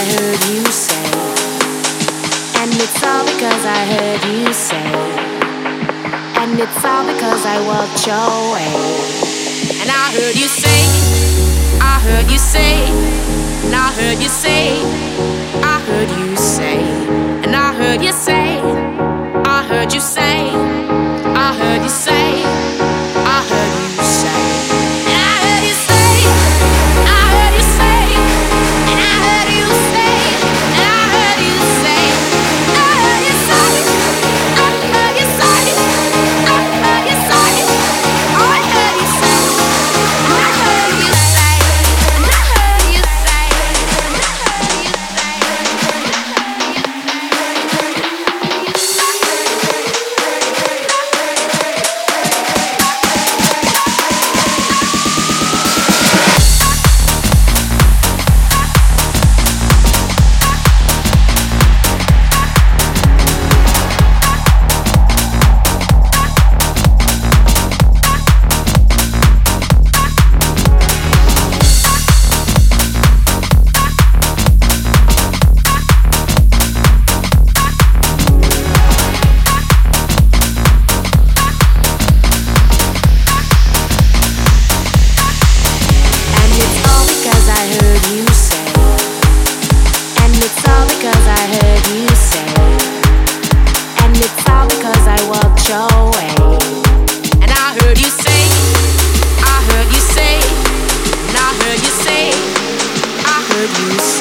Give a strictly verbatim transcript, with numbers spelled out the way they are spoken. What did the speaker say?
heard you say. And it's all because I heard you say. And it's all because I walked your way. And I heard you say, I heard you say, and I heard you say, I heard you say, and I heard you say, I heard you say, I heard you say, I heard you say, and I heard you say, I heard you say, and I heard you say, and I heard you say, I heard you say, I heard you say, I heard you say, oh I heard you say, I heard you say, and I heard you say, and I heard you say, you